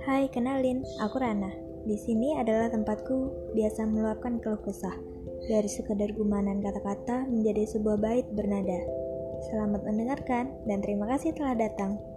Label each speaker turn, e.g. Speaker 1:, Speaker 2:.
Speaker 1: Hai, kenalin, aku Rana. Di sini adalah tempatku biasa meluapkan keluh kesah. Dari sekadar gumanan kata-kata menjadi sebuah bait bernada. Selamat mendengarkan dan terima kasih telah datang.